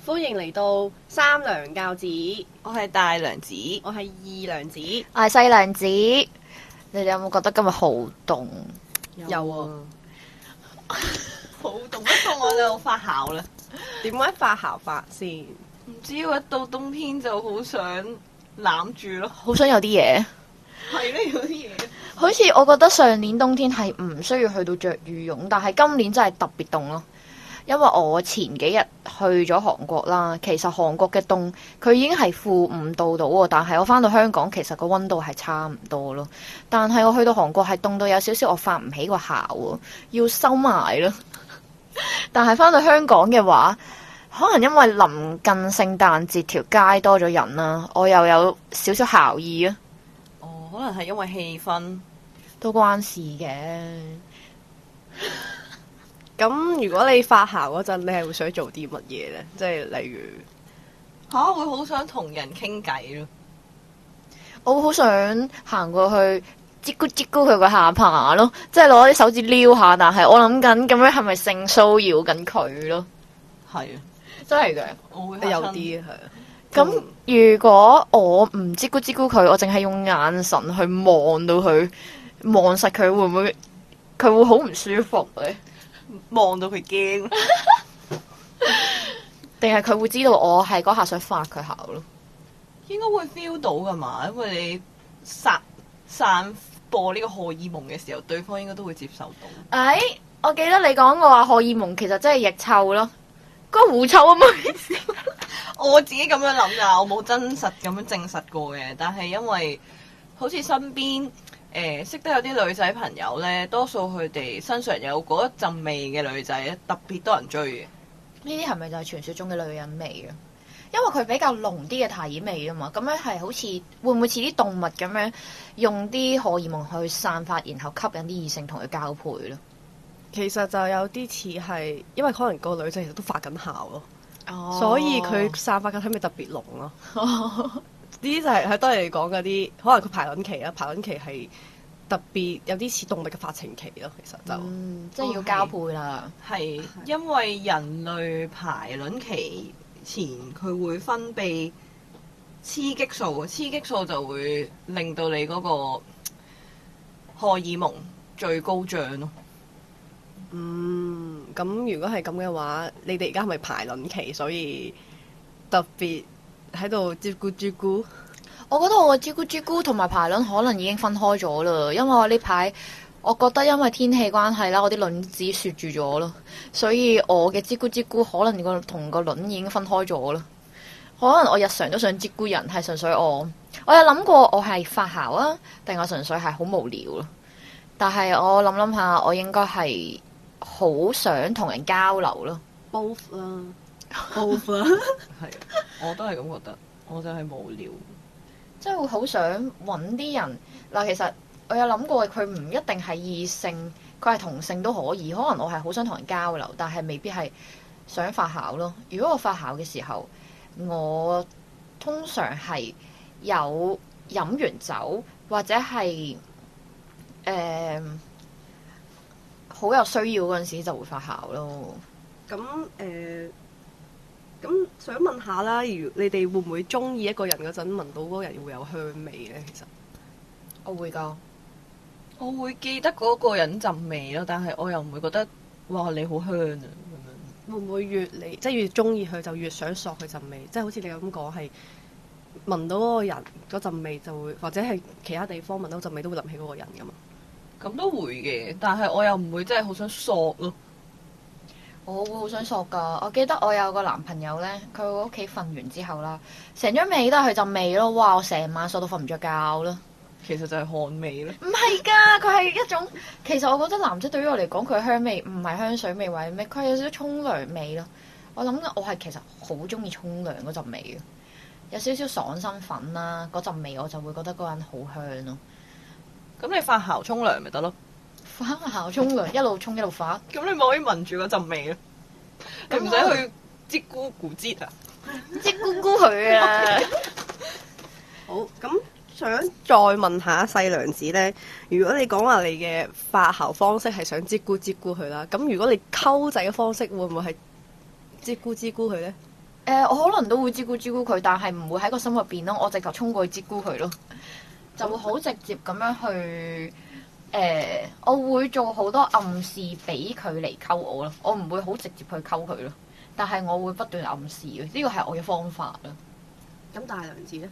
歡迎嚟到三娘教子， 我係大娘子， 我係二娘子。 我係細娘子，你哋有冇覺得今日好凍？ 有啊， 好凍一凍我就發姣啦。 點解發姣法先？ 唔知喎，一到冬天就好想攬住咯。 好想有啲嘢， 係咧，有啲嘢。 好似我覺得上年冬天係唔需要去到着羽絨，但係今年真係特別凍咯。因為我前幾日去咗韓國啦，其實韓國嘅凍佢已經係-5度到喎，但係我翻到香港其實個溫度係差唔多咯。但係我去到韓國係凍到有少少我發唔起個姣喎，要收埋咯。但係翻到香港嘅話，可能因為臨近聖誕節條街多咗人啦，我又有少少姣意啊， 哦，可能係因為氣氛。 都關事嘅。 咁如果你發姣嗰陣，你係會想做啲乜嘢呢？即係例如會好想同人傾偈咯。 我好想行過去擠咕擠咕佢個下巴咯，即係攞啲手指撩下，但係我諗緊咁樣係咪性騷擾緊佢咯？ 係啊， 真係嘅。 我會有啲係啊。 咁如果我唔擠咕擠咕佢，我淨係用眼神去望到佢，望實佢，會唔會佢會好唔舒服咧？ 望到佢驚， 定係佢會知道我係嗰下想發佢姣咯？ 應該會 feel 到噶嘛，因為你散播呢個荷爾蒙嘅時候，對方應該都會接受到。 我記得你講過話荷爾蒙其實真係腋臭咯，嗰個狐臭啊嘛。 我自己咁樣諗㗎，我冇真實咁樣證實過嘅，但係因為好似身邊識得有啲女仔朋友呢，多數佢哋身上有嗰一陣味嘅女仔咧，特別多人追嘅。 呢啲係咪就係傳說中嘅女人味啊？因為佢比較濃啲嘅體味啊嘛，咁樣係好似會唔會似啲動物咁樣用啲荷爾蒙去散發，然後吸引啲異性同佢交配咯？ 其實就有啲似係，因為可能個女仔其實都發緊姣咯， 所所以佢散發嘅體味特別濃咯。呢啲就係都係講嗰啲，可能佢排卵期啦，排卵期係特別有啲似動物嘅發情期咯。其實就即係要交配啦。 係因為人類排卵期前佢會分泌雌激素，雌激素就會令到你嗰個荷爾蒙最高漲咯。 咁如果係咁嘅話，你哋而家係咪排卵期，所以特別喺度照顧照顧？ 我覺得我嘅朱古朱古同埋排卵可能已經分開咗啦，因為我呢排我覺得因為天氣關係啦，我啲卵子雪住咗咯，所以我嘅朱古朱古可能同個卵已經分開咗啦。可能我日常都想朱古人，係純粹我有諗過我係發姣啊，定我純粹係好無聊咯。但係我諗下，我應該係好想同人交流咯。 both 啦，both 啦， 係，我都係咁覺得，我就係無聊。 即係會好想揾啲人嗱，其實我有諗過，佢唔一定係異性，佢係同性都可以。可能我係好想同人交流，但係未必係想發姣咯。如果我發姣嘅時候，我通常係有飲完酒或者係好有需要嗰陣時就會發姣咯。 咁咁想問下啦，如你哋會唔會中意一個人嗰陣聞到嗰個人會有香味咧？其實我會㗎。 我會記得嗰個人陣味咯，但係我又唔會覺得哇你好香啊咁樣。 會唔會越中意佢就越想索佢陣味？即係好似你咁講，係聞到嗰個人嗰陣味就會，或者係其他地方聞到陣味都會諗起嗰個人㗎嘛？ 咁都會嘅，但係我又唔會真係好想索咯。 我會好想索㗎。我記得我有個男朋友呢，佢喺屋企瞓完之後啦，成張被都係佢陣味咯。哇！我成晚索到瞓唔着覺咯。 其實就係汗味咯。 唔係㗎，佢係一種，其實我覺得男仔對於我嚟講，佢嘅香味唔係香水味或者咩，佢係有少少沖涼味咯。我諗我係其實好中意沖涼嗰陣味嘅，有少少爽身粉啦，嗰陣味我就會覺得嗰個人好香咯。 咁你發姣沖涼咪得咯？ 發姣沖涼一路沖一路發， 咁你咪可以聞住嗰陣味咯。你唔使去擠咕咕擠啊！ 即咕咕佢啊！ 好，咁想再問下細娘子呢，如果你講話你嘅發姣方式係想擠咕擠咕佢啦，咁如果你溝仔嘅方式會唔會係擠咕擠咕佢呢？ 我可能都會招呼佢，但係唔會喺個心入邊咯。我直頭衝過去招呼佢咯，就會好直接咁樣去我會做好多暗示俾佢嚟溝我咯。我唔會好直接去溝佢咯，但係我會不斷暗示嘅，呢個係我嘅方法咯。 咁大良子咧？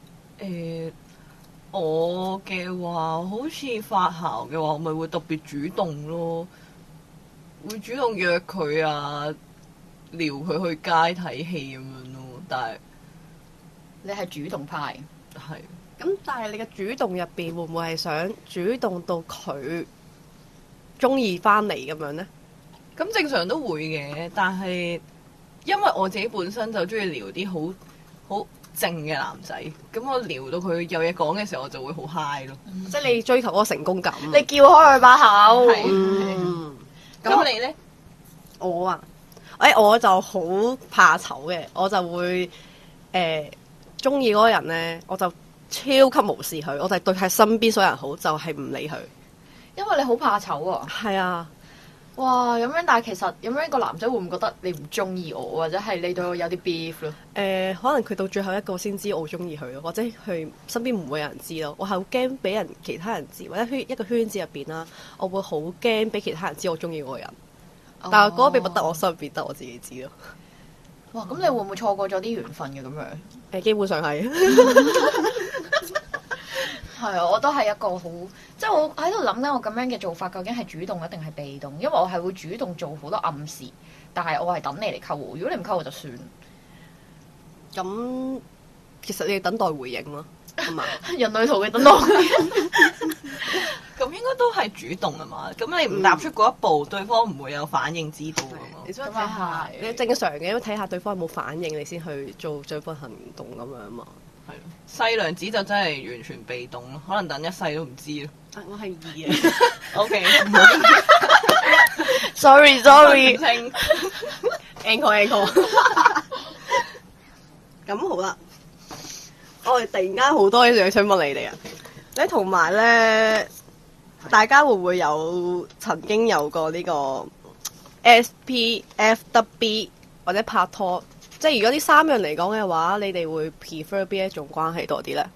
我嘅話好似發姣嘅話，我咪會特別主動咯，會主動約佢啊，撩佢去街睇戲咁樣咯。但係你係主動派， 係咁但係你嘅主動入邊會唔會係想主動到佢中意翻嚟咁樣咧？ 咁正常都會嘅，但係因為我自己本身就中意撩啲好靜嘅男仔，咁我撩到佢有嘢講嘅時候，我就會好 high 咯。 即係你追求嗰個成功感。 你叫開佢把口。 係咁你咧？ 我啊，我就好怕醜嘅，我就會中意嗰個人咧，我就超級無視佢，我就對係身邊所有人好，就係唔理佢。 因為你好怕醜啊！ 係啊， 哇，咁樣，但係其實咁樣個男仔會唔會覺得你唔中意我，或者係你對我有啲 beef 咯？ 可能佢到最後一個先知我中意佢咯，或者佢身邊唔會有人知咯。我係好驚俾人其他人知，或者一個圈子入邊啦，我會好驚俾其他人知我中意嗰個人。但係嗰個秘密得我心入邊得我自己知咯。 哇！咁你會唔會錯過咗啲緣分嘅咁樣？ 基本上係。 係啊，我都係一個好，即係我喺度諗緊，我咁樣嘅做法究竟係主動一定係被動？因為我係會主動做好多暗示，但係我係等你嚟溝我。如果你唔溝我就算。 咁其實你要等待回應咯，係嘛？ 人類圖嘅等待。 咁應該都係主動啊嘛。咁你唔踏出嗰一步，對方唔會有反應知道噶嘛。 你想睇下，你正常嘅，因為睇下對方有冇反應，你先去做進一步行動咁樣嘛。 係咯，細娘子就真係完全被動咯，可能等一世都唔知咯。 我係二嘅。 OK。 Sorry。 Encore。咁好啦，我哋突然間好多嘢想問你哋啊！咧同埋咧，大家會唔會曾經有過呢個 SPFWB 或者拍拖？即係如果呢三樣嚟講嘅話，你哋會 prefer 邊一種關係多啲咧？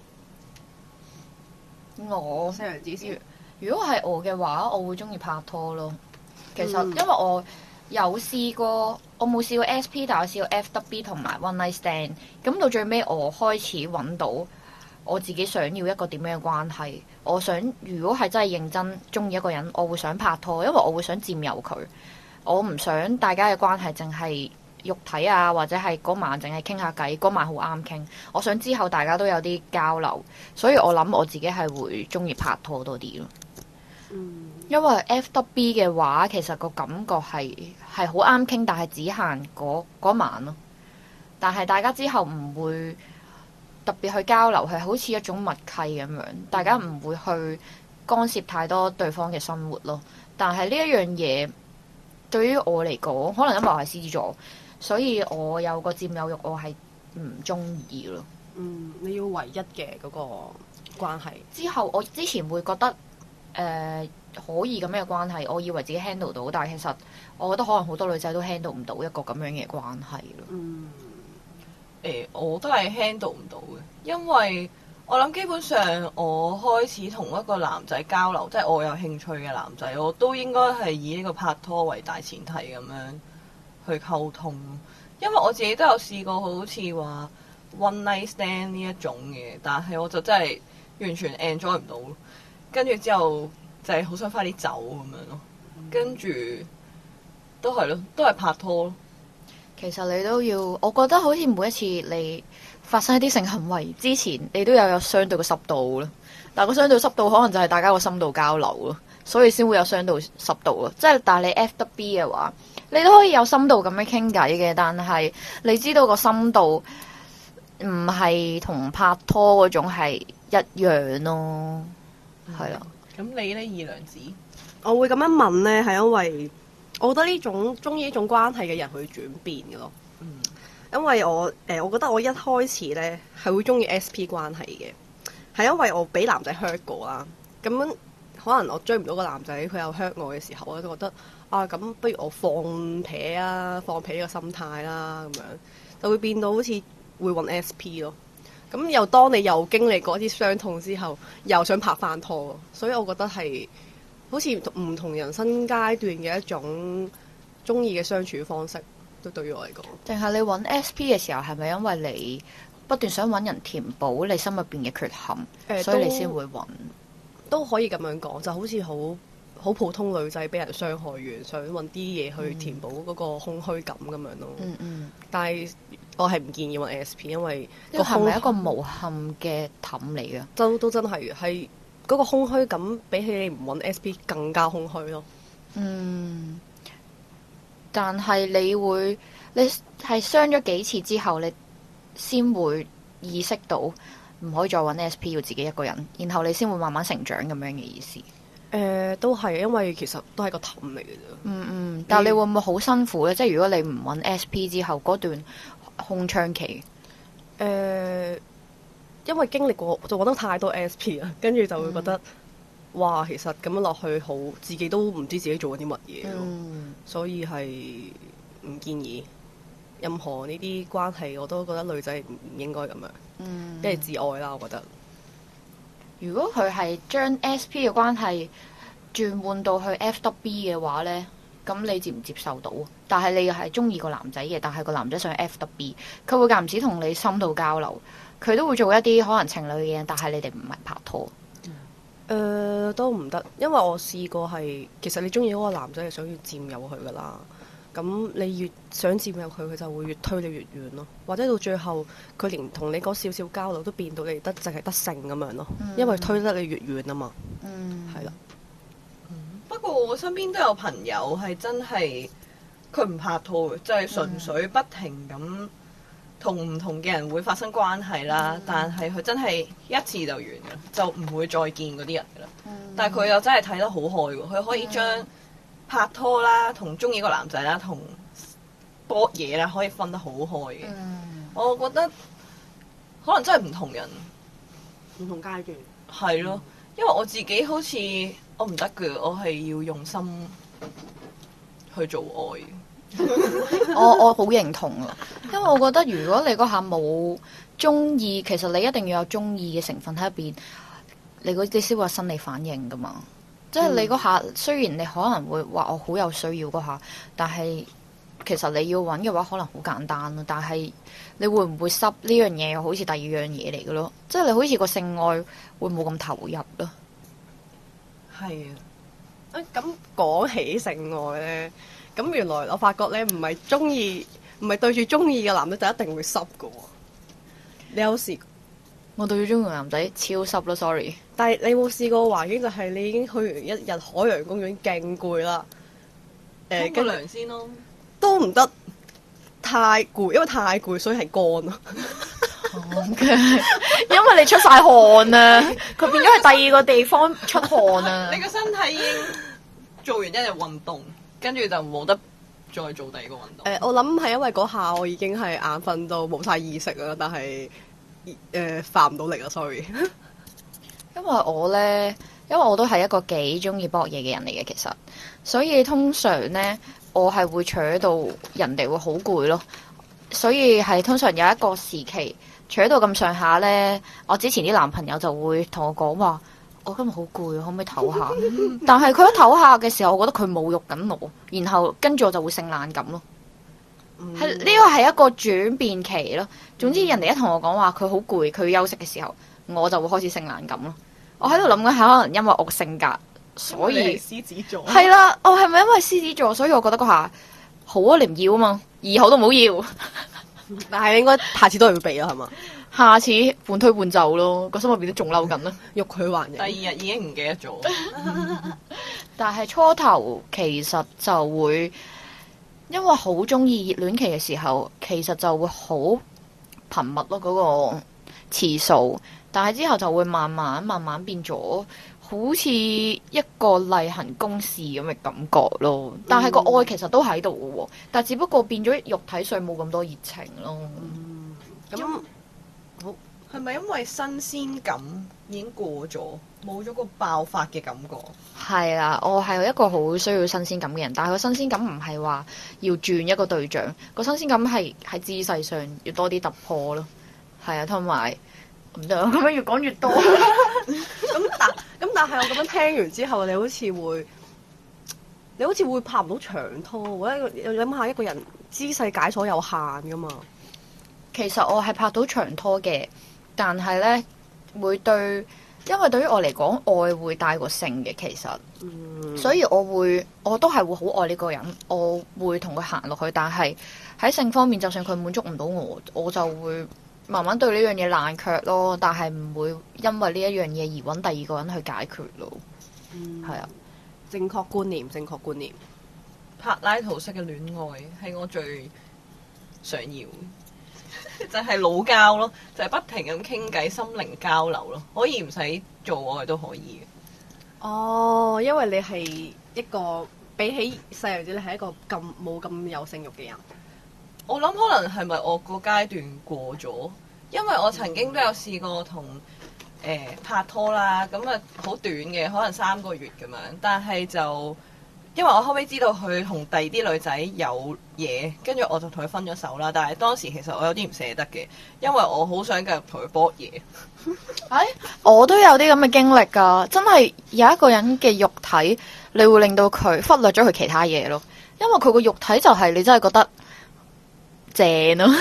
我西洋之先。 如果係我嘅話，我會中意拍拖咯。其實因為我有試過，我冇試過 SP， 但我試過 FWB 同埋 One Night Stand。咁到最尾，我開始揾到我自己想要一個點樣嘅關係。我想如果係真係認真中意一個人，我會想拍拖，因為我會想佔有佢。我唔想大家嘅關係淨係肉體啊，或者係嗰晚淨係傾下偈，嗰晚好啱傾。我想之後大家都有啲交流，所以我諗我自己係會中意拍拖多啲咯。因為 FWB 嘅話，其實個感覺係好啱傾，但係只限嗰晚咯。但係大家之後唔會特別去交流，係好似一種默契咁樣，大家唔會去干涉太多對方嘅生活咯。但係呢一樣嘢對於我嚟講，可能因為我係獅子座，所以我有個佔有慾，我係唔中意咯。 你要唯一嘅嗰個關係。 之後我之前會覺得可以咁樣嘅關係，我以為自己 handle 到，但係其實我覺得可能好多女仔都 handle 唔到一個咁樣嘅關係咯。 我都係 handle 唔到嘅，因為我諗基本上我開始同一個男仔交流，即係我有興趣嘅男仔，我都應該係以呢個拍拖為大前提咁樣去溝通。因為我自己都有試過好似話 one night stand 呢一種嘅，但係我就真係完全 enjoy 唔到，跟住之後就係好想快啲走咁樣咯。跟住都係咯，都係拍拖咯。 其實你都要，我覺得好似每一次你發生一啲性行為之前，你都有相對嘅濕度咯。但係個相對濕度可能就係大家個深度交流咯，所以先會有相對濕度咯。即係但係你 FWB 嘅話，你都可以有深度咁樣傾偈嘅，但係你知道個深度唔係同拍拖嗰種係一樣咯，係啦。 咁你呢，二娘子？ 我會咁樣問呢，係因為我覺得呢種中意呢種關係嘅人會轉變嘅咯。因為我覺得我一開始呢係會中意 SP 關係嘅，係因為我俾男仔 hurt 過啦。咁可能我追唔到個男仔，佢又 hurt 我嘅時候，我就覺得啊，咁不如我放屁呢個心態啦，咁樣就會變到好似會揾 SP 咯。咁又當你又經歷過一啲傷痛之後，又想拍翻拖咯，所以我覺得係好似唔同人生階段嘅一種中意嘅相處方式，都對於我嚟講。 定係你揾 SP 嘅時候，係咪因為你不斷想揾人填補你心入邊嘅缺陷，所以你先會揾？ 都可以咁樣講，就好似好普通女仔俾人傷害完，想揾啲嘢去填補嗰個空虛感咁樣咯。但係我係唔建議揾 SP， 因為個係咪一個無憾嘅氹嚟嘅？ 都真係嘅，係嗰個空虛感比起你唔揾 SP 更加空虛咯。 但係你係傷咗幾次之後，你先會意識到唔可以再揾 SP， 要自己一個人，然後你先會慢慢成長咁樣嘅意思。 都係，因為其實都係個氹嚟嘅啫。 但係你會唔會好辛苦咧？即係如果你唔揾 SP 之後嗰段空窗期， 因為經歷過就揾得太多 SP 啦，跟住就會覺得，哇，其實咁樣落去好，自己都唔知自己做緊啲乜嘢咯。所以係唔建議任何呢啲關係，我都覺得女仔唔應該咁樣，因為自愛啦，我覺得。 如果佢係將 SP 嘅關係轉換到去 FWB 嘅話呢，咁你接唔接受到？但係你又係中意個男仔嘅，但係個男仔想 FWB，佢會間唔時同你深度交流，佢都會做一啲可能情侶嘅嘢，但係你哋唔係拍拖。 都唔得，因為我試過係，其實你中意嗰個男仔係想要佔有佢噶啦，咁你越想佔有佢，佢就會越推你越遠咯，或者到最後佢連同你嗰少少交流都變到你淨係得性咁樣咯，因為推得你越遠啊嘛，係啦。 不過我身邊都有朋友係真係佢唔拍拖嘅，就係純粹不停咁同唔同嘅人會發生關係啦，但係佢真係一次就完嘅，就唔會再見嗰啲人噶啦。但係佢又真係睇得好開喎，佢可以將拍拖啦、同中意個男仔啦、同搏嘢啦，可以分得好開嘅。我覺得可能真係唔同人、 唔同階段。 係咯，因為我自己好似我唔得嘅，我係要用心去做愛。 我好認同啊，因為我覺得如果你嗰下冇中意，其實你一定要有中意嘅成分喺入邊，你嗰啲先會有生理反應噶嘛。即係你嗰下，雖然你可能會話我好有需要嗰下，但係其實你要揾嘅話，可能好簡單咯。但係你會唔會濕呢樣嘢，又好似第二樣嘢嚟嘅咯？即係你好似個性愛會冇咁投入咯。 係啊，咁講起性愛咧。咁原來我發覺咧，唔係對住中意嘅男仔就一定會濕㗎喎。你有試過？ 我對住中意嘅男仔超濕咯，sorry。 但係你有冇試過環境就係你已經去完一日海洋公園勁攰啦， 沖個涼先咯， 都唔得，太攰，因為太攰所以係乾咯。 因為你出晒汗啊，佢變咗係第二個地方出汗啊。 你個身體已經做完一日運動。跟住就冇得再做第二個運動。 我諗係因為嗰下我已經係眼瞓到冇晒意識啦，但係發唔到力啦 ，sorry。 因為我都係一個幾中意搏嘢嘅人嚟嘅，其實，所以通常呢，我係會扯到人哋會好攰咯。所以係通常有一個時期扯到咁上下呢，我之前啲男朋友就會同我講話。我今日好攰，可唔可以唞下？但係佢一唞下嘅時候，我覺得佢侮辱緊我，然後跟住我就會性冷感咯。係呢個係一個轉變期咯。總之人哋一同我講話佢好攰，佢休息嘅時候，我就會開始性冷感咯。我喺度諗緊係可能因為我性格，所以獅子座係啦。我係咪因為獅子座，所以我覺得嗰下好啊？你唔要啊嘛，二號都唔好要。 但係你應該下次都係會避咯，係嘛？ 下次半推半就咯，個心入邊都仲嬲緊啦， 欲拒還迎。 第二日已經唔記得咗。 但係初頭其實就會，因為好中意熱戀期嘅時候，其實就會好頻密咯嗰個次數。但係之後就會慢慢變咗，好似一個例行公事咁嘅感覺咯。但係個愛其實都喺度嘅喎，但係只不過變咗肉體上冇咁多熱情咯。 咁好係咪因為新鮮感已經過咗，冇咗個爆發嘅感覺？ 係啦，我係一個好需要新鮮感嘅人，但係個新鮮感唔係話要轉一個對象，個新鮮感係喺姿勢上要多啲突破咯。係啊，同埋唔得，咁樣越講越多。 但係我咁樣聽完之後，你好似會拍唔到長拖，或者諗下一個人姿勢解鎖有限噶嘛。 其實我係拍到長拖嘅，但係呢會對，因為對於我嚟講，愛會大過性嘅其實，所以我都係會好愛呢個人，我會同佢行落去。但係喺性方面，就算佢滿足唔到我，我就會慢慢對呢樣嘢冷卻咯。但係唔會因為呢一樣嘢而揾第二個人去解決咯。係啊。 正確觀念，正確觀念。 柏拉圖式嘅戀愛係我最想要，就係老交咯，就係不停咁傾偈，心靈交流咯，可以唔使做愛都可以嘅。 哦，因為你係一個比起細路仔，你係一個冇咁有性慾嘅人。 我諗可能係咪我個階段過咗，因為我曾經都有試過同拍拖啦，咁啊好短嘅，可能3個月咁樣，但係就因為我後尾知道佢同第二啲女仔有嘢，跟住我就同佢分咗手啦。但係當時其實我有啲唔捨得嘅，因為我好想繼續同佢搏嘢。 我都有啲咁嘅經歷㗎，真係有一個人嘅肉體，你會令到佢忽略咗佢其他嘢咯，因為佢個肉體就係你真係覺得正咯。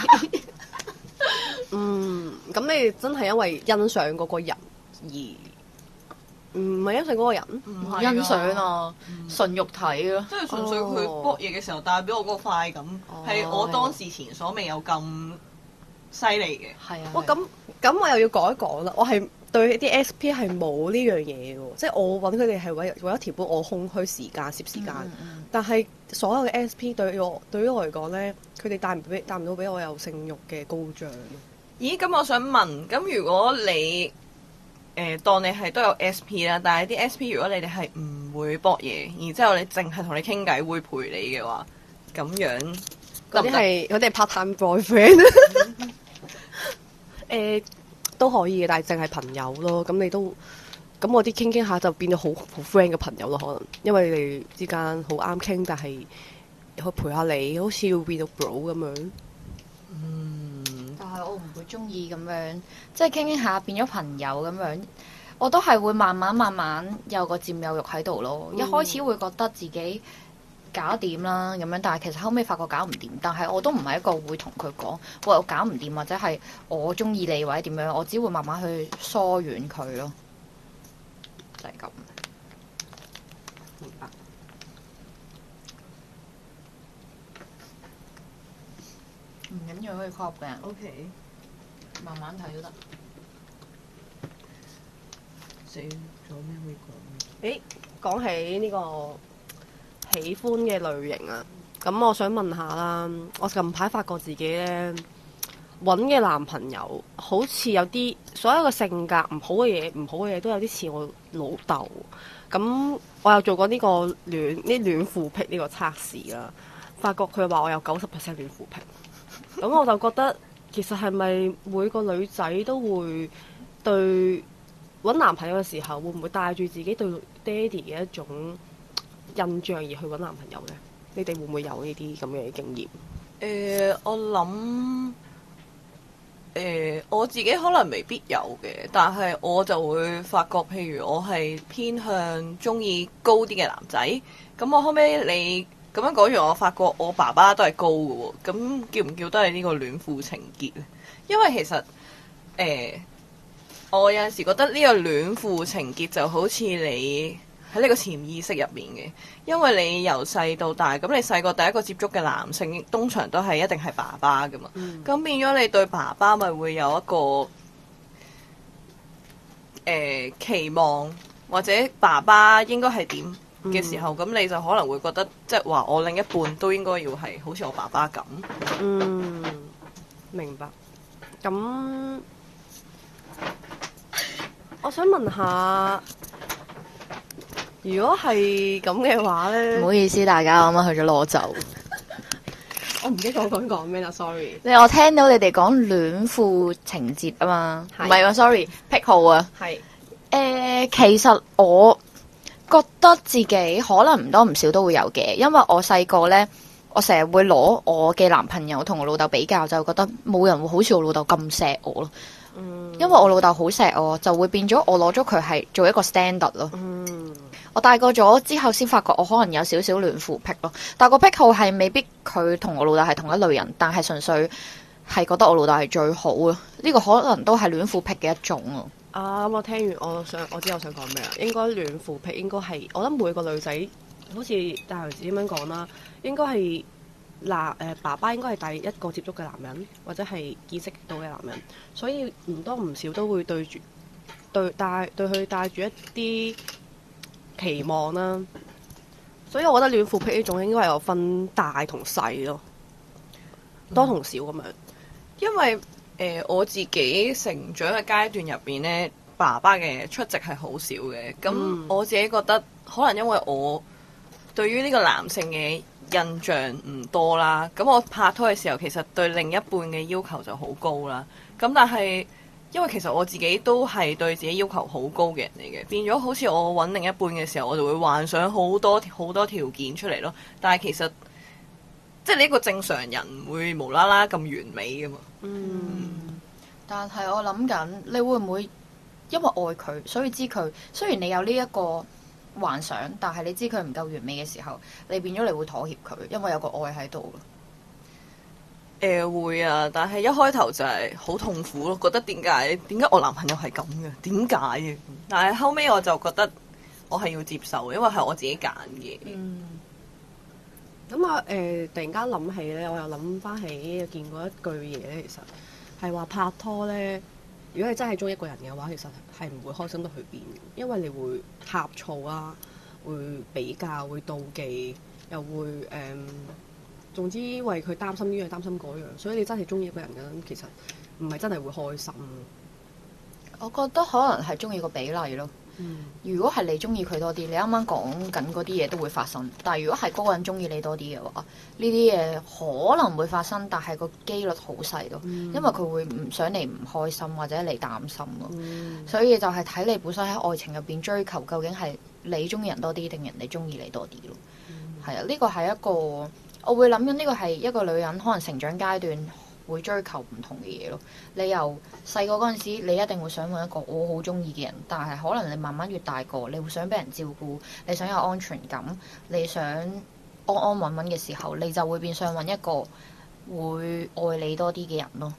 咁你真係因為欣賞嗰個人而唔係欣賞嗰個人？ 唔係欣賞啊，純肉體咯。 即係純粹佢搏嘢嘅時候帶俾我嗰個快感，係我當時前所未有咁犀利嘅。 係啊。 哇！咁我又要講一講啦。我係對啲 SP 係冇呢樣嘢嘅，即係我揾佢哋係為咗填補我空虛時間、攝時間。但係所有嘅 SP 對於我嚟講咧，佢哋帶唔到俾我有性慾嘅高漲。 咦？咁我想問，咁如果你當你係都有 SP 啦，但係啲 SP 如果你哋係唔會搏嘢，然之後你淨係同你傾偈會陪你嘅話，咁樣嗰啲係part-time boyfriend 都可以嘅，但係淨係朋友咯。咁我啲傾下就變咗好 friend 嘅朋友咯，可能因為你哋之間好啱傾，但係可以陪下你，好似要變到 bro 咁樣。 但係我唔會中意咁樣，即係傾下變咗朋友咁樣，我都係會慢慢有個佔有欲喺度咯。一開始會覺得自己搞掂啦咁樣，但係其實後尾發覺搞唔掂。但係我都唔係一個會同佢講，喂，我搞唔掂或者係我中意你或者點樣，我只會慢慢去疏遠佢咯，就係咁。 明白。 唔緊要，可以 call 嘅人 OK， 慢慢睇都得。 死咗咩會講？ 講起呢個喜歡嘅類型啊，咁我想問下啦，我近排發覺自己呢，揾嘅男朋友好似有啲所有嘅性格唔好嘅嘢都有啲似我老豆。咁我有做過呢個戀父癖呢個測試啦，發覺佢話我有90% 戀父癖。咁我就覺得其實係咪每個女仔都會對揾男朋友嘅時候，會唔會帶住自己對爹哋嘅一種印象而去揾男朋友呢？你哋會唔會有呢啲咁嘅經驗？ 我諗我自己可能未必有嘅，但係我就會發覺，譬如我係偏向中意高啲嘅男仔，咁我後尾你咁樣講完，我發覺我爸爸都係高嘅喎，咁叫唔叫都係呢個戀父情結咧？因為其實我有陣時覺得呢個戀父情結就好似你喺呢個潛意識入面嘅，因為你由細到大，咁你細個第一個接觸嘅男性通常都係一定係爸爸噶嘛，咁變咗你對爸爸咪會有一個期望，或者爸爸應該係點嘅時候，咁你就可能會覺得，即係話我另一半都應該要係好似我爸爸咁。 明白。咁我想問下，如果係咁嘅話呢？ 唔好意思，大家啱啱去咗攞酒。 我唔記得我講咩啦，sorry。 我聽到你哋講戀父情節啊嘛，唔係係喎，sorry，癖好啊。 係其實我覺得自己可能唔多唔少都會有嘅，因為我細個呢，我成日會攞我嘅男朋友同我老豆比較，就覺得冇人會好似我老豆咁錫我咯。因為我老豆好錫我，就會變咗我攞咗佢係做一個 standard 咯。我大個咗之後先發覺我可能有少少戀父癖咯，但個癖好係未必佢同我老豆係同一類人，但係純粹係覺得我老豆係最好咯。呢個可能都係戀父癖嘅一種咯。 咁我聽完我知我想講咩啦。應該戀父癖應該係我覺得每個女仔好似大頭子咁樣講啦，應該係爸爸應該係第一個接觸嘅男人，或者係見識到嘅男人，所以唔多唔少都會對佢帶住一啲期望啦。所以我覺得戀父癖呢種應該係有分大同細咯，多同少咁樣。 因為我自己成長嘅階段入邊呢，爸爸嘅出席係好少嘅。咁我自己覺得可能因為我對於呢個男性嘅印象唔多啦，咁我拍拖嘅時候其實對另一半嘅要求就好高啦。咁但係因為其實我自己都係對自己要求好高嘅人嚟嘅，變咗好似我揾另一半嘅時候，我就會幻想好多條件出嚟咯。但係其實即係你一個正常人唔會無啦啦咁完美噶嘛。 但係我諗緊，你會唔會因為愛佢，所以知佢雖然你有呢一個幻想，但係你知佢唔夠完美嘅時候，你變咗你會妥協佢，因為有個愛喺度咯。 會啊，但係一開頭就係好痛苦咯，覺得點解我男朋友係咁嘅？點解嘅？但係後尾我就覺得我係要接受，因為係我自己揀嘅。 咁啊突然間諗起咧，我又諗翻起見過一句嘢咧，其實係話拍拖咧，如果你真係中意一個人嘅話，其實係唔會開心得去邊，因為你會呷醋啊，會比較，會妒忌，又會總之為佢擔心呢樣擔心嗰樣，所以你真係中意一個人嘅，其實唔係真係會開心。 我覺得可能係中意個比例咯。如果係你中意佢多啲，你啱啱講緊嗰啲嘢都會發生。但係如果係嗰個人中意你多啲嘅話，呢啲嘢可能會發生，但係個機率好細咯。因為佢會唔想你唔開心或者你擔心咯。所以就係睇你本身喺愛情入邊追求，究竟係你中意人多啲定人哋中意你多啲咯。係啊，呢個係一個我會諗緊，呢個係一個女人可能成長階段會追求唔同嘅嘢咯。你由細個嗰陣時，你一定會想揾一個我好中意嘅人，但係可能你慢慢越大個，你會想俾人照顧，你想有安全感，你想安安穩穩嘅時候，你就會變相揾一個會愛你多啲嘅人咯。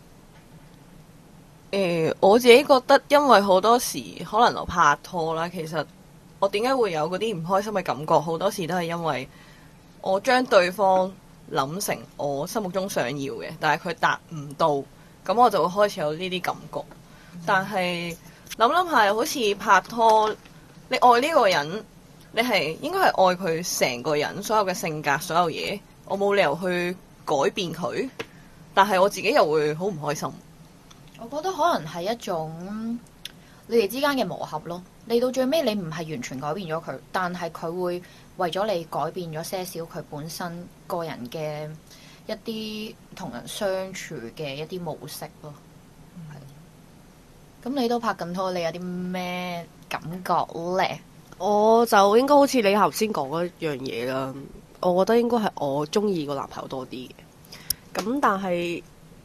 我自己覺得，因為好多時可能我拍拖啦，其實我點解會有嗰啲唔開心嘅感覺，好多時都係因為我將對方諗成我心目中想要嘅，但係佢達唔到，咁我就會開始有呢啲感覺。但係諗下，好似拍拖，你愛呢個人，你係應該係愛佢成個人，所有嘅性格，所有嘢，我冇理由去改變佢，但係我自己又會好唔開心。 我覺得可能係一種你哋之間嘅磨合咯。你到最尾，你唔係完全改變咗佢，但係佢會為咗你改變咗些少佢本身個人嘅一啲同人相處嘅一啲模式咯。咁你都拍緊拖，你有啲咩感覺咧？ 我就應該好似你頭先講嗰樣嘢啦，我覺得應該係我中意個男朋友多啲嘅。咁但係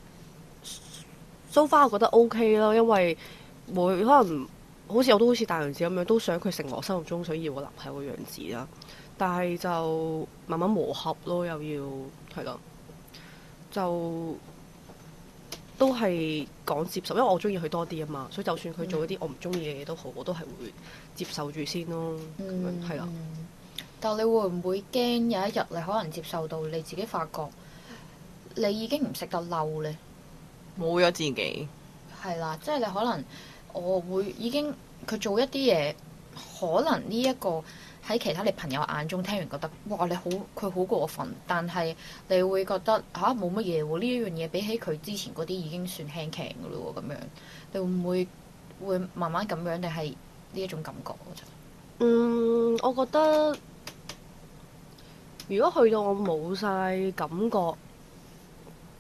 so far 我覺得 OK 咯，因為可能好似我都好似大娘子咁樣，都想佢成為我心目中想要個男朋友嘅樣子啦。但係就慢慢磨合咯，又要係咯，就都係講接受，因為我中意佢多啲啊嘛，所以就算佢做一啲我唔中意嘅嘢都好，我都係會接受住先咯。咁樣係啦。 但你會唔會驚有一日你可能接受到你自己發覺你已經唔識得嬲呢？ 冇咗自己係啦，即係你可能我會已經佢做一啲嘢，可能呢一個喺其他你朋友眼中聽完覺得哇你好佢好過分，但係你會覺得冇乜嘢喎，呢一樣嘢比起佢之前嗰啲已經算輕輕嘅咯喎，咁樣你會唔會慢慢咁樣定係呢一種感覺？ 我覺得如果去到我冇晒感覺，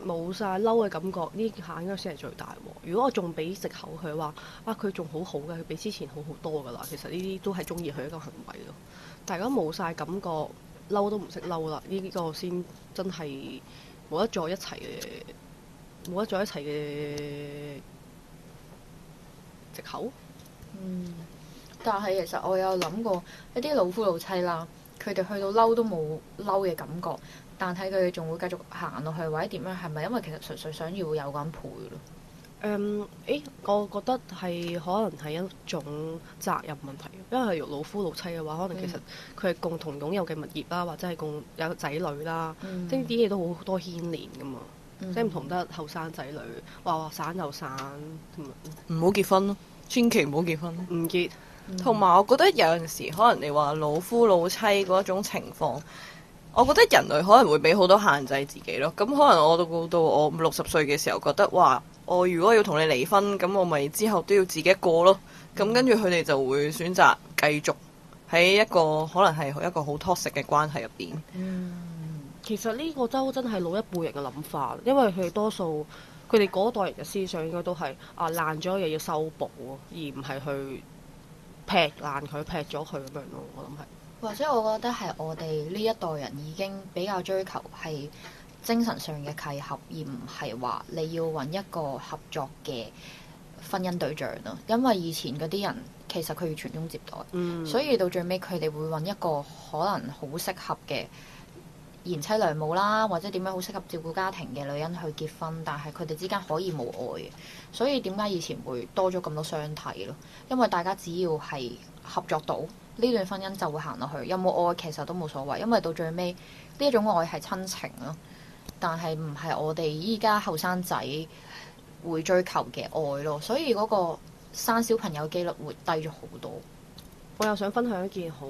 冇晒嬲嘅感覺，呢下應該先係最大喎。如果我仲俾藉口佢話佢仲好好嘅，佢比之前好好多噶啦，其實呢啲都係中意佢一個行為咯。大家冇晒感覺，嬲都唔識嬲啦，呢個先真係冇得再一齊嘅，冇得再一齊嘅藉口。 但係其實我有諗過一啲老夫老妻啦，佢哋去到嬲都冇嬲嘅感覺，但係佢哋仲會繼續行落去或者點樣？係咪因為其實純粹想要有個人陪咯？ 我覺得係可能係一種責任問題，因為係老夫老妻嘅話，可能其實佢係共同擁有嘅物業啦，或者係共有仔女啦，即係啲嘢都好多牽連噶嘛，即係唔同得後生仔女話散就散， 唔好結婚咯，千祈唔好結婚， 唔結。 同埋我覺得有陣時可能你話老夫老妻嗰種情況，我覺得人類可能會俾好多限制自己咯。咁可能我到我60歲嘅時候覺得哇，我如果要同你離婚，咁我咪之後都要自己一個咯。咁跟住佢哋就會選擇繼續喺一個可能係一個好 toxic 嘅關係入邊。 其實呢個都真係老一輩人嘅諗法，因為佢哋多數佢哋嗰代人嘅思想應該都係爛咗嘢要修補，而唔係去劈爛佢、劈咗佢咁樣咯。我諗係。 或者我覺得係我哋呢一代人已經比較追求係精神上嘅契合，而唔係話你要揾一個合作嘅婚姻對象咯。因為以前嗰啲人其實佢要傳宗接代，所以到最尾佢哋會揾一個可能好適合嘅賢妻良母啦，或者點樣好適合照顧家庭嘅女人去結婚，但係佢哋之間可以冇愛嘅。所以點解以前會多咗咁多相睇咯？因為大家只要係合作到，呢段婚姻就會行落去，有冇愛其實都冇所謂，因為到最尾呢一種愛係親情咯，但係唔係我哋依家後生仔會追求嘅愛咯，所以嗰個生小朋友機率會低咗好多。 我又想分享一件好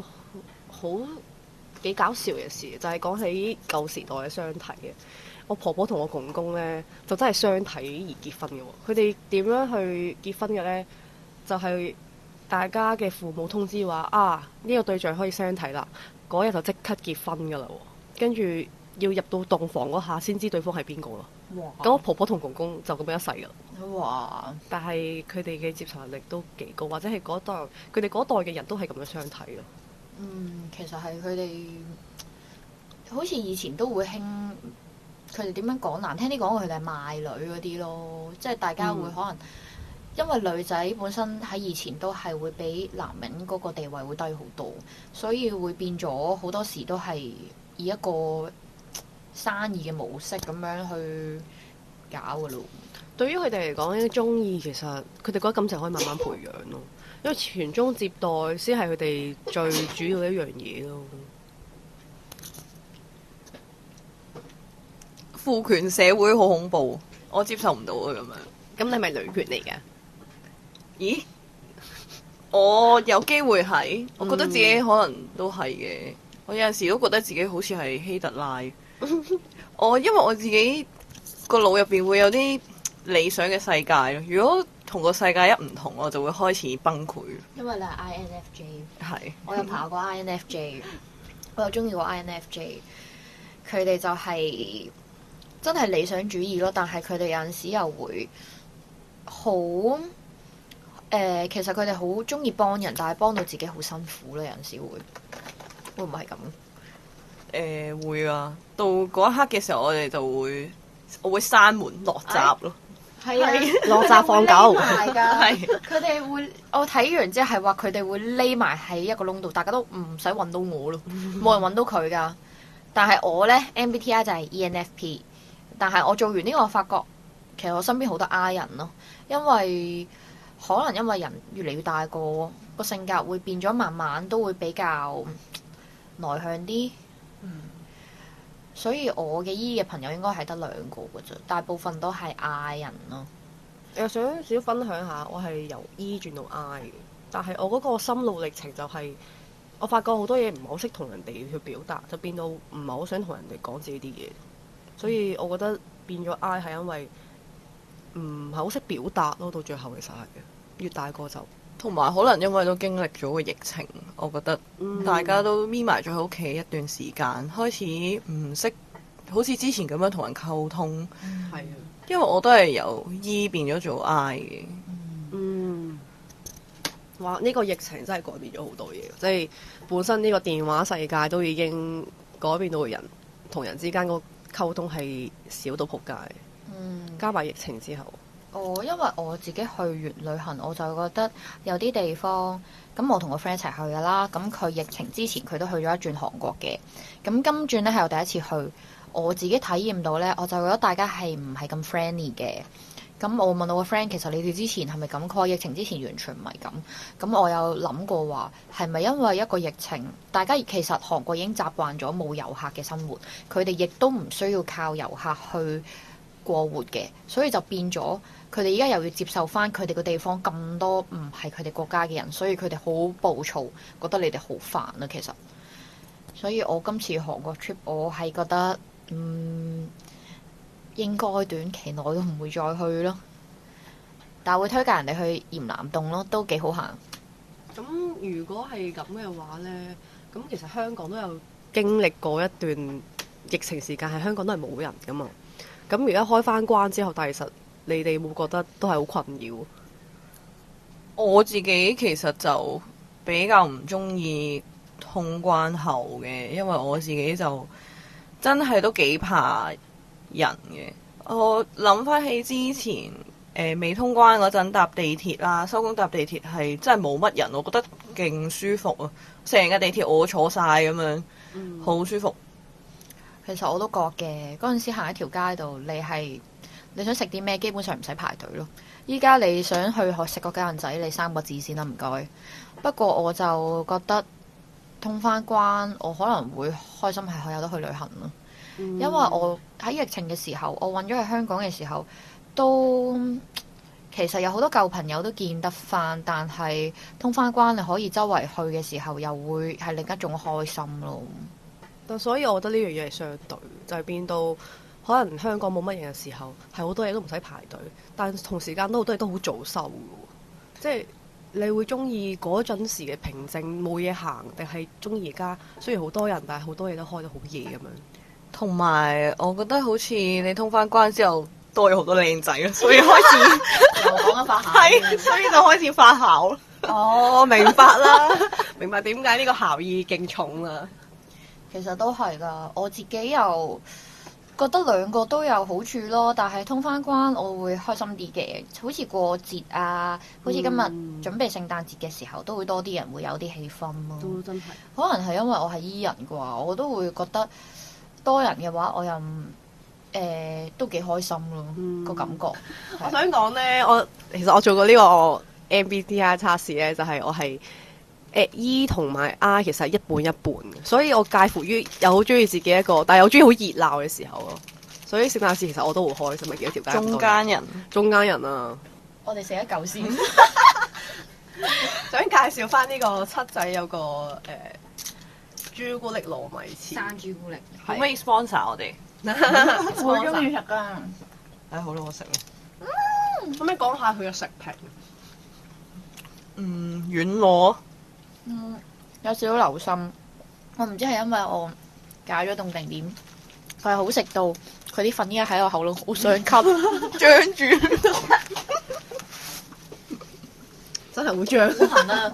幾搞笑嘅事，就係講起舊時代嘅相睇嘅。我婆婆同我公公呢，就真係相睇而結婚嘅喎。佢哋點樣去結婚嘅呢？就係大家嘅父母通知話呢個對象可以相睇啦，嗰日就即刻結婚噶啦，跟住要入到洞房嗰下先知對方係邊個咯。咁我婆婆同公公就咁樣一世噶啦。 哇！ 但係佢哋嘅接受能力都幾高，或者係嗰代佢哋嗰代嘅人都係咁樣相睇咯。 其實係佢哋好似以前都會興，佢哋點樣講難聽啲講，佢哋係賣女嗰啲咯，即係大家會可能。因為女仔本身喺以前都係會比男人嗰個地位會低好多，所以會變咗好多時都係以一個生意嘅模式咁樣去搞噶咯。 對於佢哋嚟講咧，中意其實佢哋覺得感情可以慢慢培養咯，因為傳宗接代先係佢哋最主要嘅一樣嘢咯。 父權社會好恐怖，我接受唔到啊咁樣。 咁你係咪女權嚟㗎？ 咦？我有機會係，我覺得自己可能都係嘅。我有陣時都覺得自己好似係希特拉。因為我自己個腦入邊會有啲理想嘅世界咯。如果同個世界一唔同，我就會開始崩潰。 因為你係 INFJ， 係我有爬過 INFJ，我有中意過 INFJ。佢哋就係真係理想主義咯，但係佢哋有陣時又會好其實佢哋好中意幫人，但係幫到自己好辛苦咧。有陣時會唔會係咁？ 會啊！到嗰一刻嘅時候，我會閂門落閘咯。 係啊， 落閘放狗。 係佢哋會，我睇完之後係話佢哋會匿埋喺一個窿度，大家都唔使揾到我咯，冇人揾到佢噶。但係我呢 MBTI 就係 ENFP， 但係我做完呢個，我發覺其實我身邊好多 I 人咯，因為可能因為人越嚟越大個性格會變咗，慢慢都會比較內向啲。所以我嘅 E 嘅朋友應該係得2個嘅啫，大部分都係 I 人咯。 又想少分享下，我係由 E 轉到 I 嘅，但係我嗰個心路歷程就係、我發覺好多嘢唔係好識同人哋去表達，就變到唔係好想同人哋講自己啲嘢，所以我覺得變咗 I 係因為唔係好識表達咯，到最後其實係越大個就同埋可能因為都經歷咗個疫情，我覺得大家都匿埋咗喺屋企一段時間，開始唔識好似之前咁樣同人溝通， 係啊， 因為我都係由 E 變咗做 I 嘅。 嗯，哇！呢個疫情真係改變咗好多嘢，即係本身呢個電話世界都已經改變到人同人之間個溝通係少到撲街，加埋疫情之後。 因為我自己去完旅行，我就覺得有啲地方，咁我同個 friend 一齊去噶啦。咁佢疫情之前佢都去咗一轉韓國嘅，咁今轉呢係我第一次去，我自己體驗到呢，我就覺得大家係唔係咁 friendly 嘅。咁我問我個 friend，其實你哋之前係咪咁？佢話疫情之前完全唔係咁。咁我有諗過話，係咪因為一個疫情，大家其實韓國已經習慣咗冇遊客嘅生活，佢哋亦都唔需要靠遊客去過活嘅，所以就變咗。佢哋而家又要接受翻佢哋個地方咁多唔係佢哋國家嘅人，所以佢哋好暴躁，覺得你哋好煩啊。其實，所以我今次韓國 trip 我係覺得，應該短期內都唔會再去咯。但係會推介人哋去鹽南洞咯，都幾好行。 咁如果係咁嘅話呢，咁其實香港都有經歷過一段疫情時間，係香港都係冇人噶嘛。咁而家開翻關之後，但係其實你哋會覺得都係好困擾？ 我自己其實就比較唔中意通關後嘅，因為我自己就真係都幾怕人嘅。我諗翻起之前未通關嗰陣搭地鐵啦，收工搭地鐵係真係冇乜人，我覺得勁舒服啊！成個地鐵我坐晒咁樣，好舒服。 其實我都覺嘅，嗰陣時行一條街度，你想食啲咩，基本上唔使排隊咯。依家你想去食個雞蛋仔，你3個字先啦，唔該。不過我就覺得通翻關，我可能會開心係有得去旅行咯。因為我喺疫情嘅時候，我揾咗去香港嘅時候，都其實有好多舊朋友都見得翻，但係通翻關你可以周圍去嘅時候，又會係另一種開心咯。 但所以我覺得呢樣嘢係相對，就係變到可能香港冇乜人嘅時候，係好多嘢都唔使排隊，但同時間都好多嘢都好早收嘅喎。即係你會中意嗰陣時嘅平靜冇嘢行，定係中意而家雖然好多人，但係好多嘢都開得好夜咁樣。 同埋我覺得好似你通翻關之後多咗好多靚仔咯，所以開始又講緊發酵， 係，所以就開始發酵。 哦，明白啦，明白點解呢個效益勁重啦。 其實都係噶，我自己又覺得兩個都有好處咯。但係通翻關，我會開心啲嘅。好似過節啊，好似今日準備聖誕節嘅時候，都會多啲人會有啲氣氛咯。 都真係， 可能係因為我係 E 人啩，我都會覺得多人嘅話，我又都幾開心咯，個感覺。 我想講呢，其實我做過呢個 MBTI 測試呢，就係我係E 同埋 I 其實係一半一半嘅，所以我介乎於又好中意自己一個，但係又中意好熱鬧嘅時候咯。所以聖誕節其實我都好開心，咪幾條街中間人， 中間人啊！ 我哋食一嚿先。 想介紹翻呢個七仔有個朱古力糯米糍， 生朱古力， 可唔可以 sponsor 我哋？ 我好中意食噶。 好啦，我食啦。 可唔可以講下佢嘅食評？ 軟糯。 有少少流心，我唔知係因為我解咗凍定點，佢係好食到佢啲粉依家喺我喉嚨好想吸，張住， 真係好張。 好痕啊！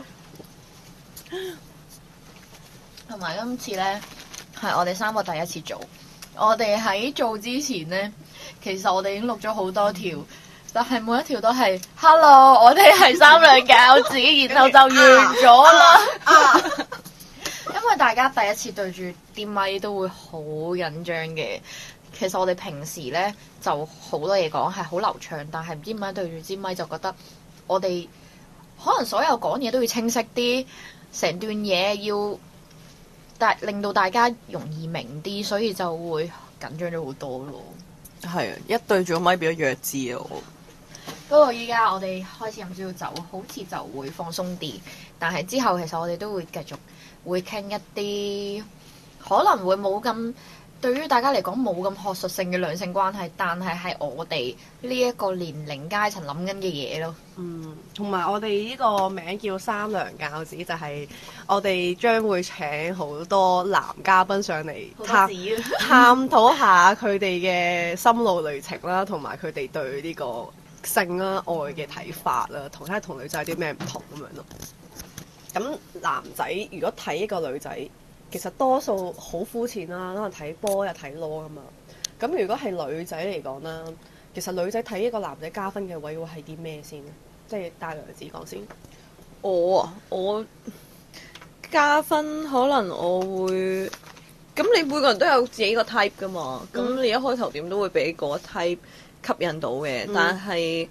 同埋今次呢，係我哋3個第一次做，我哋喺做之前呢，其實我哋已經錄咗好多條。但係每一條都係 Hello， 我哋係3兩餃子，然後就完咗啦。因為大家第一次對住啲咪都會好緊張嘅。其實我哋平時呢就好多嘢講係好流暢，但係唔知點解對住支咪就覺得我哋可能所有講嘢都要清晰啲，成段嘢要令到大家容易明啲，所以就會緊張咗好多咯。 係啊，一對住個咪變咗弱智啊！ 不過依家我哋開始飲少少酒，好似就會放鬆啲。但係之後其實我哋都會繼續會傾一啲可能會冇咁對於大家嚟講冇咁學術性嘅兩性關係，但係我哋呢一個年齡階層諗緊嘅嘢咯。 同埋我哋呢個名叫三娘教子，就係我哋將會請好多男嘉賓上嚟探討下佢哋嘅心路歷程啦，同埋佢哋對呢個性啦、愛嘅睇法啦，同睇下同女仔有啲咩唔同咁樣咯。咁男仔如果睇一個女仔，其實多數好膚淺啦，可能睇波又睇攞啊嘛。咁如果係女仔嚟講啦，其實女仔睇一個男仔加分嘅位會係啲咩先？即係帶娘子講先。 我加分可能我會，咁你每個人都有自己個 type 噶嘛，咁你一開頭點都會俾嗰 type 吸引到嘅，但係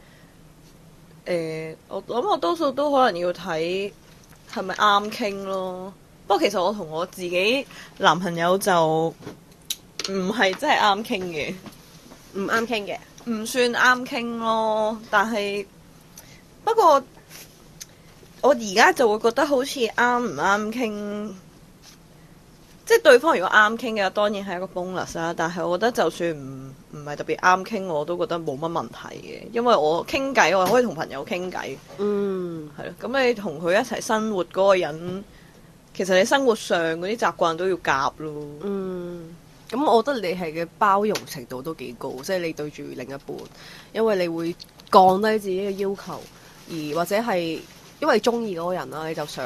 我諗我多數都可能要睇係咪啱傾咯。不過其實我同我自己男朋友就唔係真係啱傾嘅， 唔啱傾嘅， 唔算啱傾咯。但係不過我而家就會覺得好似啱唔啱傾，即係對方如果啱傾嘅，當然係一個 bonus 啦。但係我覺得就算唔係特別啱傾，我都覺得冇乜問題嘅，因為我傾偈我可以同朋友傾偈，係咯。咁你同佢一齊生活嗰個人，其實你生活上嗰啲習慣都要夾咯。 咁我覺得你係嘅包容程度都幾高，即係你對住另一半，因為你會降低自己嘅要求，而或者係因為你中意嗰個人啦，你就想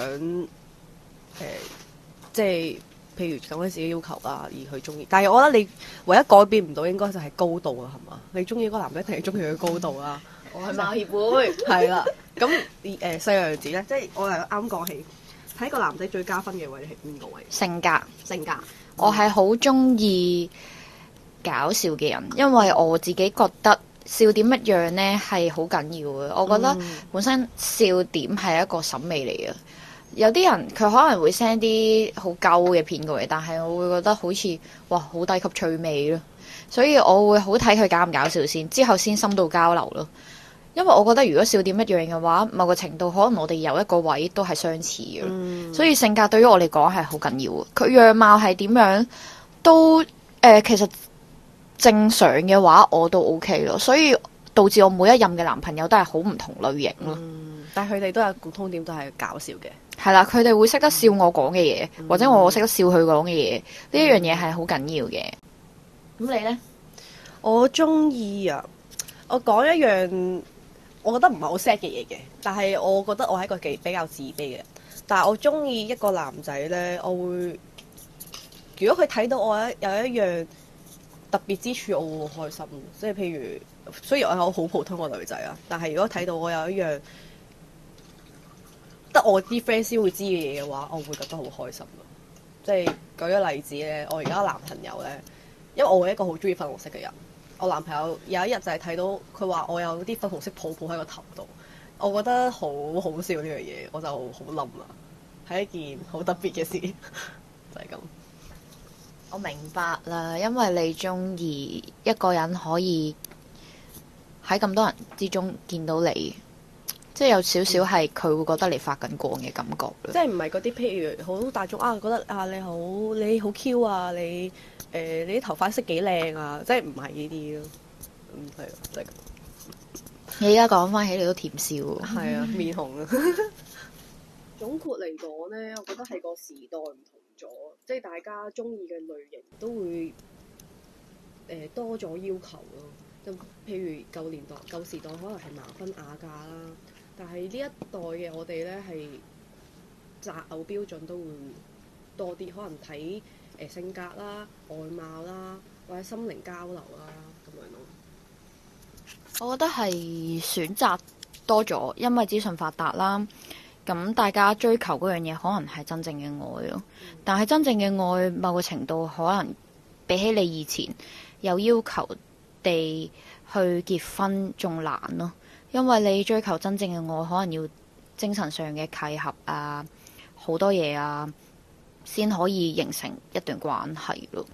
即係譬如降低自己要求啊，而去中意。但係我覺得你唯一改變唔到應該就係高度啊，係嘛？你中意嗰個男仔一定係中意佢高度啦。 我係馬協會， 係啦。咁細娘子咧，即係我係啱講起睇個男仔最加分嘅位係邊個位？ 性格。 我係好中意搞笑嘅人，因為我自己覺得笑點一樣呢係好緊要嘅。我覺得本身笑點係一個審美嚟嘅。有啲人佢可能會 send 啲好鳩嘅片過嚟，但係我會覺得好似哇好低級趣味咯。所以我會好睇佢搞唔搞笑先，之後先深度交流咯。因為我覺得如果笑點一樣嘅話，某個程度可能我哋有一個位都係相似嘅，所以性格對於我嚟講係好緊要嘅。佢樣貌係點樣都其實正常嘅話我都 OK 咯，所以導致我每一任嘅男朋友都係好唔同類型咯。 但係佢哋都有共通點，都係搞笑嘅。 係啦，佢哋會識得笑我講嘅嘢，或者我識得笑佢講嘅嘢，呢一樣嘢係好緊要嘅。咁你呢？ 我中意啊！我講一樣我覺得唔係好 sad 嘅嘢嘅，但係我覺得我係一個比較自卑嘅人。但係我中意一個男仔呢，我會如果佢睇到我有一樣特別之處，我會好開心。即係譬如，雖然我係好普通個女仔啊，但係如果睇到我有一樣得我啲 friend 先會知嘅嘢嘅話，我會覺得好開心咯。即係舉個例子呢，我而家男朋友呢，因為我係一個好中意粉紅色嘅人。我男朋友有一日就係睇到佢話我有啲粉紅色泡泡喺個頭度，我覺得好好笑呢樣嘢，我就好冧啦，係一件好特別嘅事，就係咁。 我明白啦，因為你中意一個人可以喺咁多人之中見到你，即係有少少係佢會覺得你發緊光嘅感覺。 即係唔係嗰啲譬如好大眾啊，覺得啊你好 Q 啊，你啲頭髮色幾靚啊，即係唔係呢啲咯。係啊，就係咁。 你而家講翻起你都甜笑喎。 係啊，面紅啊。總括嚟講呢，我覺得係個時代唔同咗，即係大家中意嘅類型都會多咗要求咯。就譬如舊時代可能係盲婚啞嫁啦，但係呢一代嘅我哋呢，係擇偶標準都會多啲，可能睇性格啦、外貌啦，或者心靈交流啦咁樣咯。 我覺得係選擇多咗，因為資訊發達啦。咁大家追求嗰樣嘢可能係真正嘅愛咯，但係真正嘅愛某個程度可能比起你以前有要求地去結婚仲難咯，因為你追求真正嘅愛可能要精神上嘅契合啊，好多嘢啊，先可以形成一段關係咯。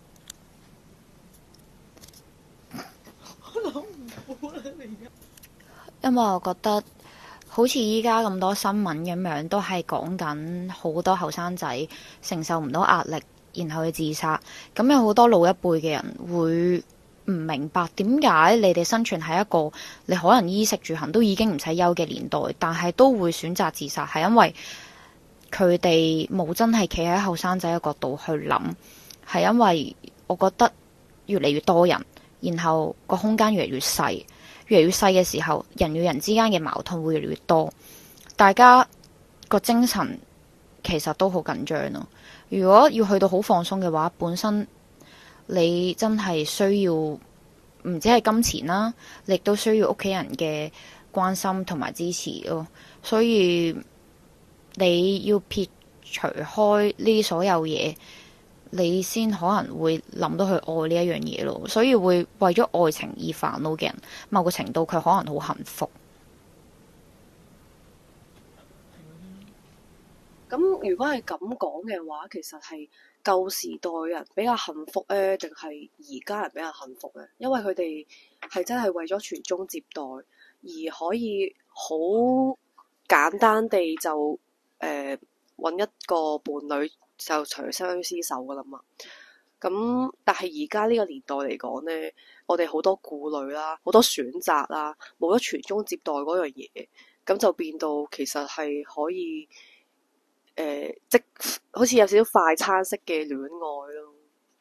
因為我覺得好似依家咁多新聞咁樣，都係講緊好多後生仔承受唔到壓力， 然後去自殺。咁有好多老一輩嘅人會唔明白點解你哋生存喺一個你可能衣食住行都已經唔使憂嘅年代，但係都會選擇自殺，係因為佢哋冇真係企喺後生仔嘅角度去諗，係因為我覺得越嚟越多人，然後個空間越嚟越細，越嚟越細嘅時候，人與人之間嘅矛盾會越嚟越多，大家個精神其實都好緊張咯。如果要去到好放鬆嘅話，本身你真係需要唔止係金錢啦，你亦都需要屋企人嘅關心同埋支持咯。所以你要撇除開呢所有嘢，你先可能會諗到去愛呢一樣嘢咯。所以會為咗愛情而煩惱嘅人，某個程度佢可能好幸福。 咁如果係咁講嘅話，其實係舊時代人比較幸福咧，定係而家人比較幸福咧？因為佢哋係真係為咗傳宗接代，而可以好簡單地就揾一個伴侶就長相廝守噶啦嘛。咁但係而家呢個年代嚟講咧，我哋好多顧慮啦，好多選擇啦，冇咗傳宗接代嗰樣嘢，咁就變到其實係可以。即好似有少少快餐式嘅戀愛咯。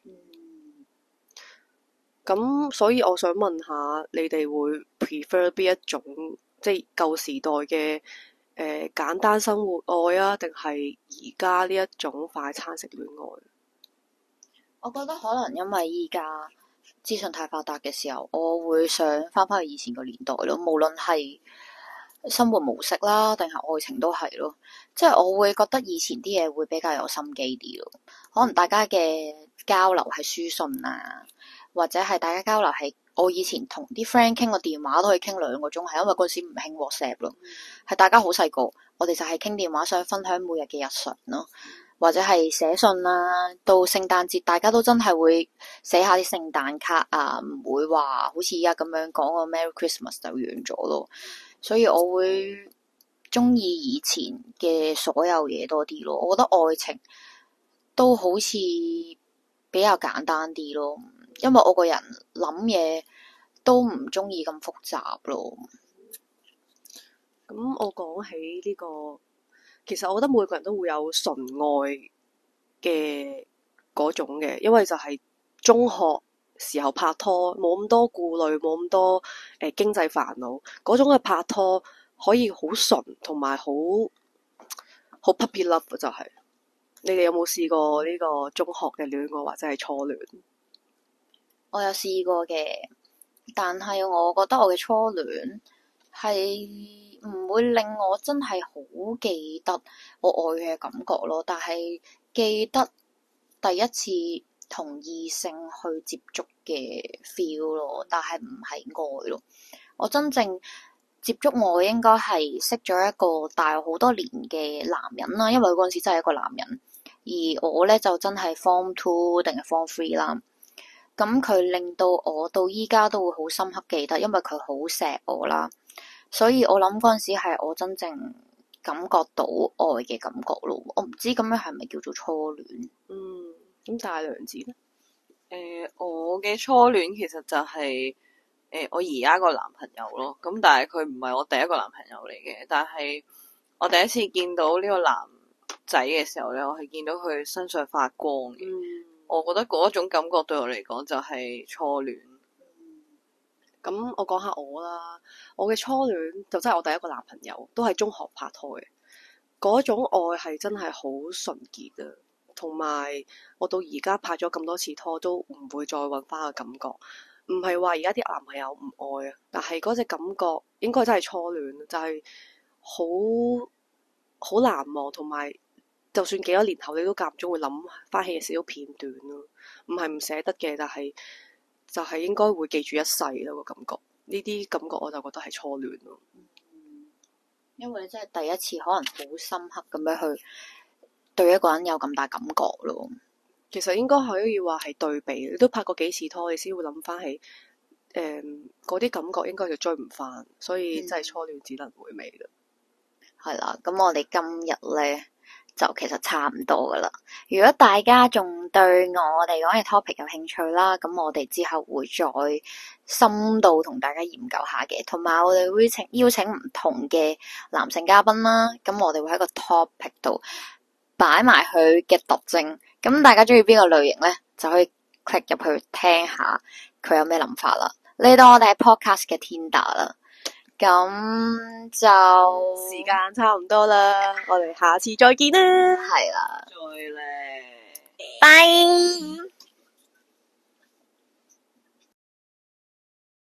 咁所以我想問下，你哋會 prefer 邊一種，即係舊時代嘅簡單生活愛啊，定係而家呢一種快餐式戀愛？ 我覺得可能因為依家資訊太發達嘅時候，我會想翻返去以前個年代咯，無論係生活模式啦，定係愛情都係咯，即係我會覺得以前啲嘢會比較有心機啲咯。可能大家嘅交流係書信啊，或者係大家交流係我以前同啲 friend 傾個電話都可以傾2個鐘，係因為嗰時唔興 WhatsApp 咯，係大家好細個，我哋就係傾電話，想分享每日嘅日常咯，或者係寫信啦。到聖誕節，大家都真係會寫下啲聖誕卡啊，唔會話好似而家咁樣講個 Merry Christmas 就完咗咯。所以我會中意以前嘅所有嘢多啲咯。我覺得愛情都好似比較簡單啲咯，因為我個人諗嘢都唔中意咁複雜咯。 咁我講起呢個，其實我覺得每個人都會有純愛嘅嗰種嘅，因為就係中學時候拍拖，冇咁多顧慮，冇咁多經濟煩惱，嗰種嘅拍拖可以好純，同埋好 puppy love 就係。你哋有冇試過呢個中學嘅戀愛或者係初戀？ 我有試過嘅，但係我覺得我嘅初戀係唔會令我真係好記得我愛佢嘅感覺咯，但係記得第一次同異性去接觸嘅 feel 咯，但係唔係愛咯。我真正接觸愛應該係識咗一個大我好多年嘅男人啦，因為嗰陣時真係一個男人，而我咧就真係 Form 2定係 Form 3啦。咁佢令到我到依家都會好深刻記得，因為佢好錫我啦，所以我諗嗰陣時係我真正感覺到愛嘅感覺咯。我唔知咁樣係咪叫做初戀？ 咁大良子咧？ 我嘅初戀其實就係我而家個男朋友咯。咁但係佢唔係我第一個男朋友嚟嘅，但係我第一次見到呢個男仔嘅時候咧，我係見到佢身上發光嘅。我覺得嗰種感覺對我嚟講就係初戀。 咁我講下我啦，我嘅初戀就真係我第一個男朋友，都係中學拍拖嘅。嗰種愛係真係好純潔啊，同埋我到而家拍咗咁多次拖都唔會再搵翻個感覺。唔係話而家啲男朋友唔愛啊，但係嗰隻感覺應該真係初戀，就係好難忘，同埋就算幾多年後你都間唔中會諗翻起嘅少少片段咯。唔係唔捨得嘅，但係就係應該會記住一世咯，個感覺。呢啲感覺我就覺得係初戀咯。 因為你真係第一次，可能好深刻咁樣去對一個人有咁大感覺咯。 其實應該可以話係對比，你都拍過幾次拖，你先會諗翻起嗰啲感覺，應該就追唔翻，所以真係初戀只能回味啦。 係啦，咁我哋今日咧就其實差唔多噶啦。如果大家仲對我哋講嘅 topic 有興趣啦，咁我哋之後會再深度同大家研究下嘅，同埋我哋會邀請唔同嘅男性嘉賓啦，咁我哋會喺個 topic 度擺埋佢嘅特徵，咁大家中意邊個類型呢，就可以 click 入去聽下佢有咩諗法啦。嚟到我哋係 podcast 嘅 Tinder 啦，咁就時間差唔多啦，我哋下次再見啦。 係啦， 再咧。 拜。